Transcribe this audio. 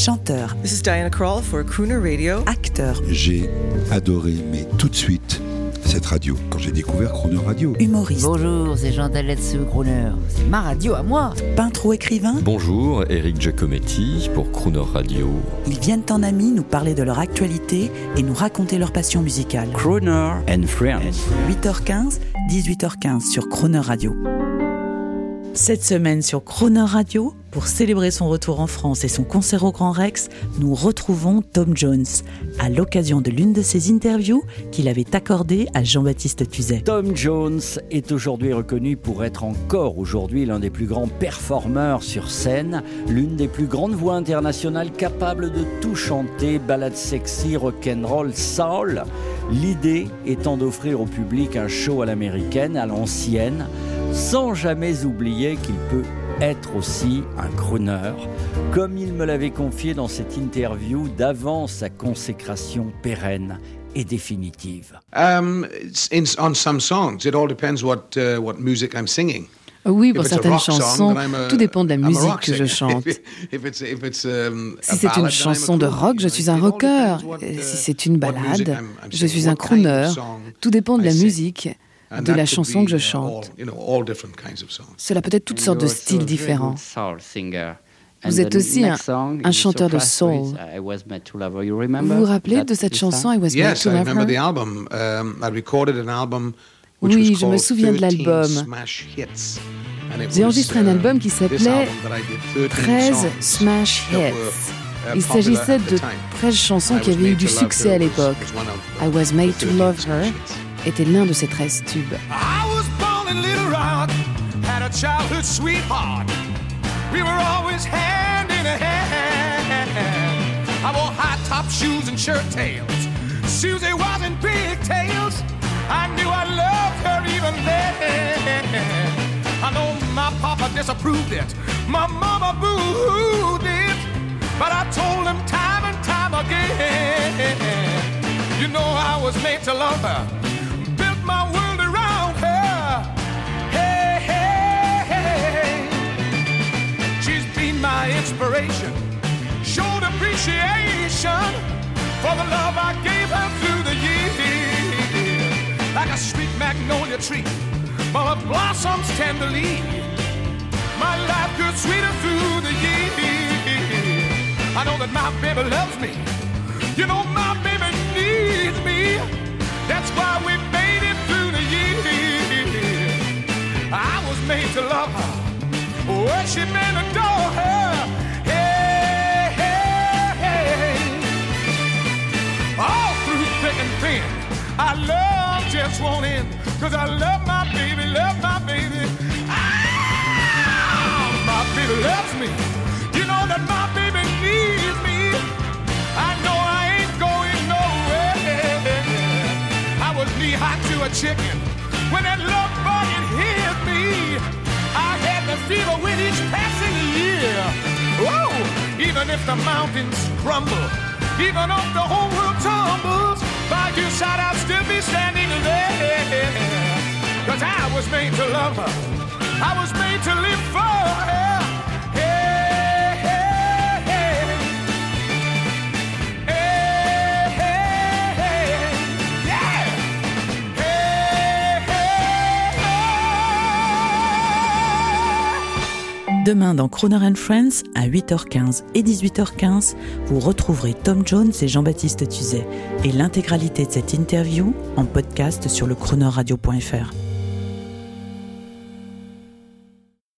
chanteur. This is Diana Krall for Crooner Radio. Acteur. J'ai adoré, mais tout de suite, cette radio, quand j'ai découvert Crooner Radio. Humoriste. Bonjour, c'est Jean Dalletz Crooner. C'est ma radio à moi. Peintre ou écrivain. Bonjour, Eric Giacometti pour Crooner Radio. Ils viennent en amis nous parler de leur actualité et nous raconter leur passion musicale. Crooner and Friends. 8h15, 18h15 sur Crooner Radio. Cette semaine sur Crooner Radio, pour célébrer son retour en France et son concert au Grand Rex, nous retrouvons Tom Jones, à l'occasion de l'une de ses interviews qu'il avait accordée à Jean-Baptiste Tuzet. Tom Jones est aujourd'hui reconnu pour être encore aujourd'hui l'un des plus grands performeurs sur scène, l'une des plus grandes voix internationales capables de tout chanter, ballades sexy, rock'n'roll, soul. L'idée étant d'offrir au public un show à l'américaine, à l'ancienne, sans jamais oublier qu'il peut être aussi un crooner, comme il me l'avait confié dans cette interview d'avant sa consécration pérenne et définitive. On some songs, it all depends what music I'm singing. Oui, pour certaines chansons, tout dépend de la musique que je chante. Si c'est une chanson de rock, je suis un rocker. Si c'est une ballade, je suis un crooner. Tout dépend de la musique, de la chanson que je chante. Cela peut être toutes sortes de styles différents. Vous êtes aussi un chanteur de soul. Vous vous rappelez de cette chanson I Was Made to Love Her? Oui, je me souviens de l'album. J'ai enregistré un album qui s'appelait 13 Smash Hits. Il s'agissait de 13 chansons qui avaient eu du succès à l'époque. I Was Made to Love Her était l'un de ces 13 tubes. I was born in Little Rock, had a childhood sweetheart. We were always hand in hand. I wore high-top shoes and shirt tails. Susie was in pigtails. I knew I loved her even then. I know my papa disapproved it, my mama boo-hooed it, but I told him time and time again, you know I was made to love her, built my world around her. Hey, hey, hey, she's been my inspiration, showed appreciation for the love I gave her through the years. Like a sweet magnolia tree, full of blossoms tenderly, my life grew sweeter through the years. I know that my baby loves me, you know my baby needs me. That's why we made it through the years. I was made to love her, worship and adore her. Hey, hey, hey. All through thick and thin, I love just won't end, 'cause I love my baby, love my baby. Ah, my baby loves me. You know that my baby needs me. I know I ain't going nowhere. I was knee-high to a chicken when that love bug it hit me. I had the fever with each passing year. Whoa! Even if the mountains crumble, even if the whole world tumbles, by your side I'll still be standing there. 'Cause I was made to love her, I was made to live for her. Hey, hey, hey. Hey, hey, hey. Yeah. Hey, hey, hey. Demain dans Crooner and Friends, à 8h15 et 18h15, vous retrouverez Tom Jones et Jean-Baptiste Tuzet et l'intégralité de cette interview en podcast sur le croonerradio.fr.